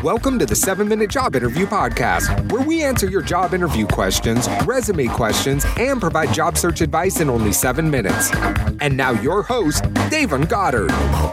Welcome to the 7-Minute Job Interview Podcast, where we answer your job interview questions, resume questions, and provide job search advice in only 7 minutes. And now your host, Davon Goddard.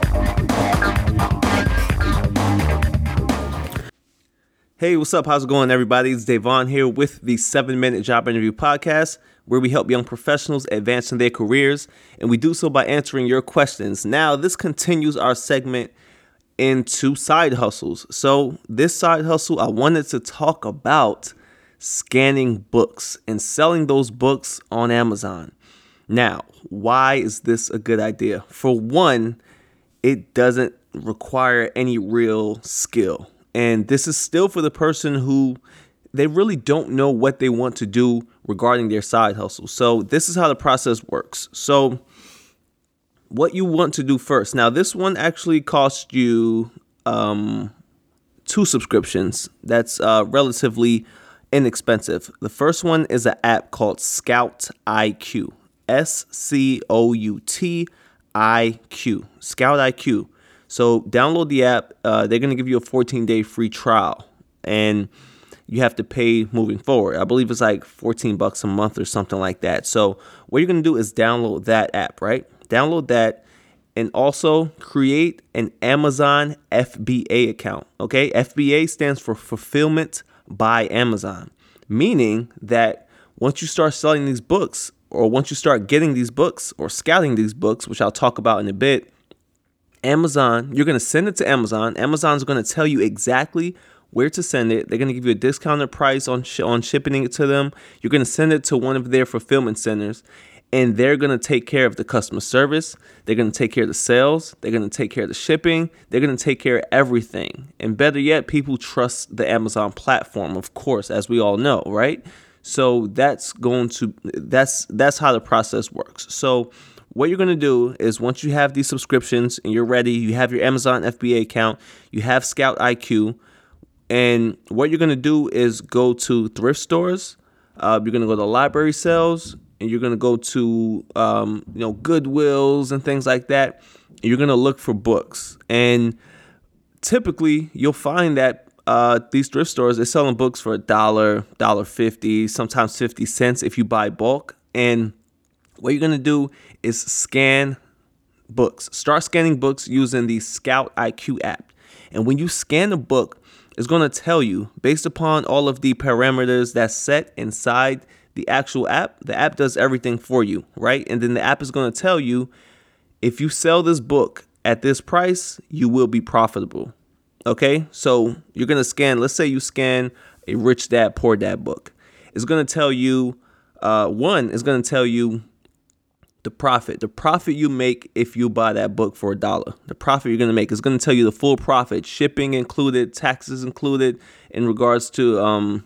Hey, what's up? How's it going, everybody? It's Davon here with the 7-Minute Job Interview Podcast, where we help young professionals advance in their careers, and we do so by answering your questions. Now, this continues our segment into side hustles. So this side hustle, I wanted to talk about scanning books and selling those books on Amazon. Now, why is this a good idea? For one, it doesn't require any real skill. And this is still for the person who they really don't know what they want to do regarding their side hustle. So this is how the process works. So what you want to do first. Now, this one actually costs you 2 subscriptions. That's relatively inexpensive. The first one is an app called Scout IQ. SCOUTIQ. Scout IQ. So download the app. They're going to give you a 14-day free trial, and you have to pay moving forward. I believe it's like $14 a month or something like that. So what you're going to do is download that app, right? Download that and also create an Amazon FBA account. Okay, FBA stands for Fulfillment by Amazon, meaning that once you start selling these books, or once you start getting these books or scouting these books, which I'll talk about in a bit, Amazon, you're going to send it to Amazon. Amazon's going to tell you exactly where to send it. They're going to give you a discounted price on shipping it to them. You're going to send it to one of their fulfillment centers, and they're going to take care of the customer service. They're going to take care of the sales. They're going to take care of the shipping. They're going to take care of everything. And better yet, people trust the Amazon platform, of course, as we all know, right? So that's how the process works. So what you're going to do is, once you have these subscriptions and you're ready, you have your Amazon FBA account, you have Scout IQ, and what you're going to do is go to thrift stores. You're going to go to library sales, and you're going to go to Goodwills and things like that. And you're going to look for books. And typically you'll find that these thrift stores, they're selling books for $1, $1.50, sometimes 50 cents if you buy bulk. And what you're going to do is scan books. Start scanning books using the Scout IQ app. And when you scan a book, it's going to tell you, based upon all of the parameters that's set inside the actual app, the app does everything for you, right? And then the app is going to tell you, if you sell this book at this price, you will be profitable. Okay, so you're going to scan, let's say you scan a Rich Dad, Poor Dad book. It's going to tell you, it's going to tell you the profit you make if you buy that book for $1. The profit you're going to make is going to tell you the full profit, shipping included, taxes included, in regards to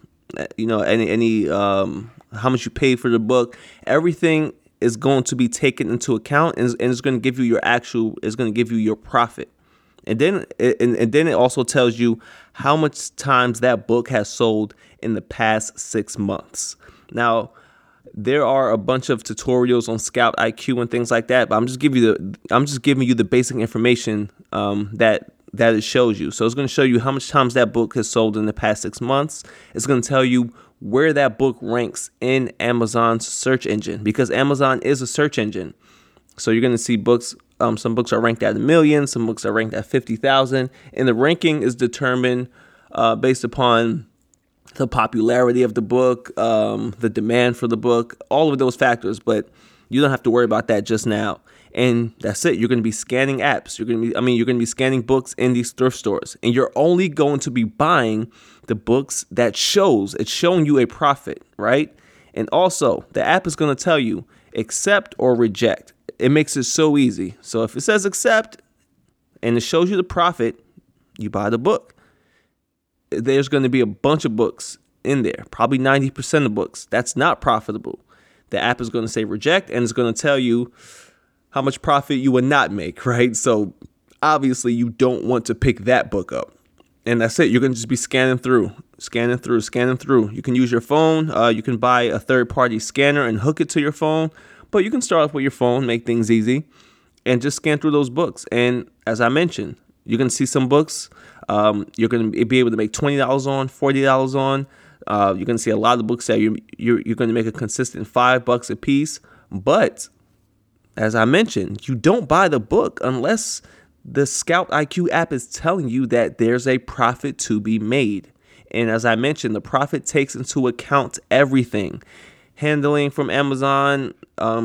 any how much you paid for the book. Everything is going to be taken into account, and it's going to give you your profit. And then it also tells you how much times that book has sold in the past 6 months. Now, there are a bunch of tutorials on Scout IQ and things like that, but I'm just giving you the basic information that it shows you. So it's going to show you how much times that book has sold in the past 6 months. It's going to tell you where that book ranks in Amazon's search engine, because Amazon is a search engine. So you're going to see books. Some books are ranked at 1 million. Some books are ranked at 50,000. And the ranking is determined based upon the popularity of the book, the demand for the book, all of those factors. But you don't have to worry about that just now. And that's it. You're going to be scanning apps. You're going to be scanning books in these thrift stores. And you're only going to be buying the books it's showing you a profit, right? And also, the app is going to tell you accept or reject. It makes it so easy. So if it says accept and it shows you the profit, you buy the book. There's going to be a bunch of books in there, probably 90% of books that's not profitable. The app is going to say reject, and it's going to tell you how much profit you would not make, right? So obviously you don't want to pick that book up. And that's it. You're going to just be scanning through. You can use your phone. You can buy a third-party scanner and hook it to your phone. But you can start off with your phone, make things easy, and just scan through those books. And as I mentioned, You're going to see some books you're going to be able to make $20 on, $40 on. You're going to see a lot of books that you're going to make a consistent $5 a piece. But as I mentioned, you don't buy the book unless the Scout IQ app is telling you that there's a profit to be made. And as I mentioned, the profit takes into account everything. Handling from Amazon,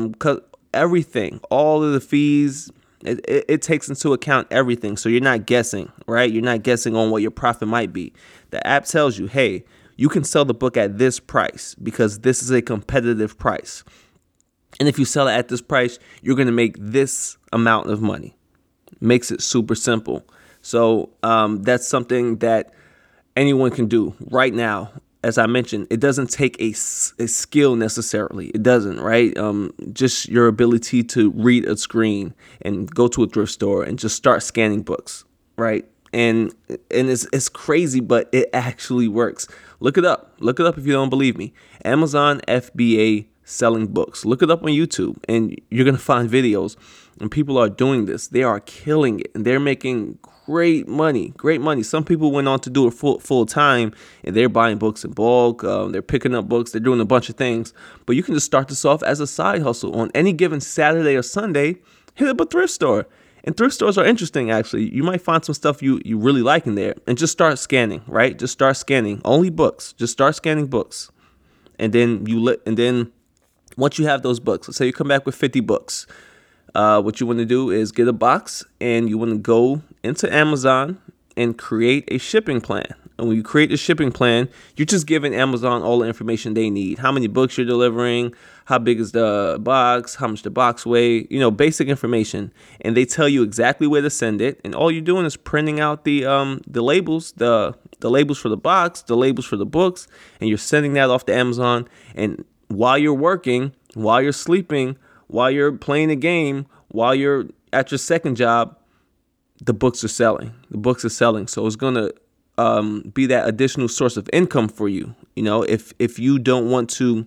everything, all of the fees, it takes into account everything. So you're not guessing, right? You're not guessing on what your profit might be. The app tells you, hey, you can sell the book at this price because this is a competitive price. And if you sell it at this price, you're going to make this amount of money. Makes it super simple. So that's something that anyone can do right now. As I mentioned, it doesn't take a skill necessarily. It doesn't, right? Just your ability to read a screen and go to a thrift store and just start scanning books, right? And it's crazy, but it actually works. Look it up. Look it up if you don't believe me. Amazon FBA selling books. Look it up on YouTube and you're going to find videos. And people are doing this. They are killing it and they're making great money. Some people went on to do it full time and they're buying books in bulk. They're picking up books. They're doing a bunch of things. But you can just start this off as a side hustle. On any given Saturday or Sunday, hit up a thrift store. And thrift stores are interesting, actually. You might find some stuff you really like in there. And just start scanning, right? Just start scanning. Only books. Just start scanning books. And then once you have those books, let's say you come back with 50 books. What you want to do is get a box and you want to go into Amazon and create a shipping plan. And when you create a shipping plan, you're just giving Amazon all the information they need. How many books you're delivering, how big is the box, how much the box weigh, basic information. And they tell you exactly where to send it. And all you're doing is printing out the labels, the labels for the box, the labels for the books, and you're sending that off to Amazon. And while you're working, while you're sleeping, while you're playing a game, while you're at your second job, the books are selling. So it's going to be that additional source of income for you. If you don't want to,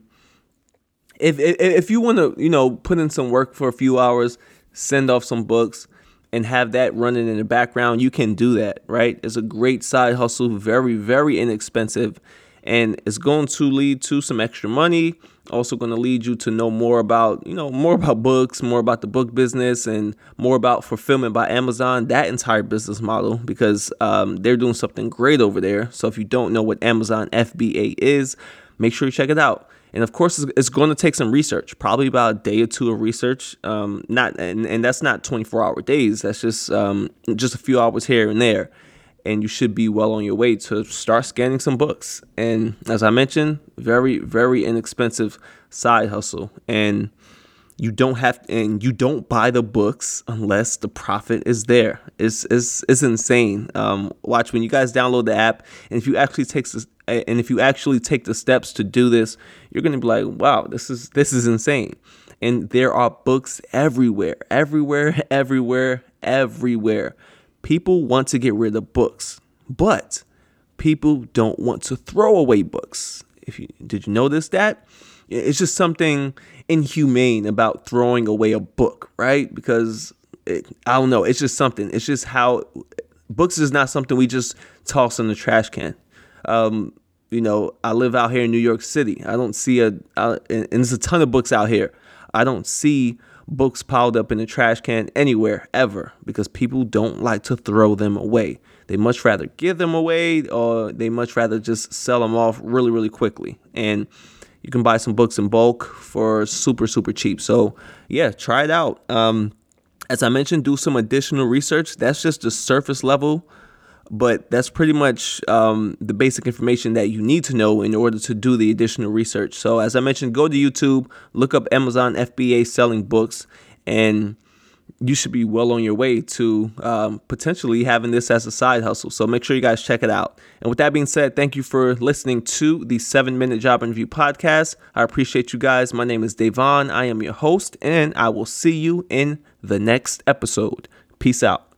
if you want to, put in some work for a few hours, send off some books and have that running in the background, you can do that, right? It's a great side hustle, very, very inexpensive. And it's going to lead to some extra money. Also going to lead you to know more about books, more about the book business, and more about fulfillment by Amazon, that entire business model, because they're doing something great over there. So if you don't know what Amazon FBA is, make sure you check it out. And of course, it's going to take some research, probably about a day or two of research. And that's not 24-hour days. That's just a few hours here and there. And you should be well on your way to start scanning some books. And as I mentioned, very, very inexpensive side hustle. And you don't buy the books unless the profit is there. It's insane. Watch when you guys download the app, and if you actually take the steps to do this, you're gonna be like, wow, this is insane. And there are books everywhere. People want to get rid of books, but people don't want to throw away books. Did you notice that? It's just something inhumane about throwing away a book, right? Because I don't know. It's just something. It's just how books is not something we just toss in the trash can. I live out here in New York City. I don't see and there's a ton of books out here. I don't see books piled up in the trash can anywhere ever, because people don't like to throw them away. They much rather give them away, or they much rather just sell them off really, really quickly. And you can buy some books in bulk for super, super cheap. So yeah, try it out. As I mentioned, do some additional research. That's just the surface level, but that's pretty much the basic information that you need to know in order to do the additional research. So as I mentioned, go to YouTube, look up Amazon FBA selling books, and you should be well on your way to potentially having this as a side hustle. So make sure you guys check it out. And with that being said, thank you for listening to the 7-Minute Job Interview Podcast. I appreciate you guys. My name is Davon. I am your host, and I will see you in the next episode. Peace out.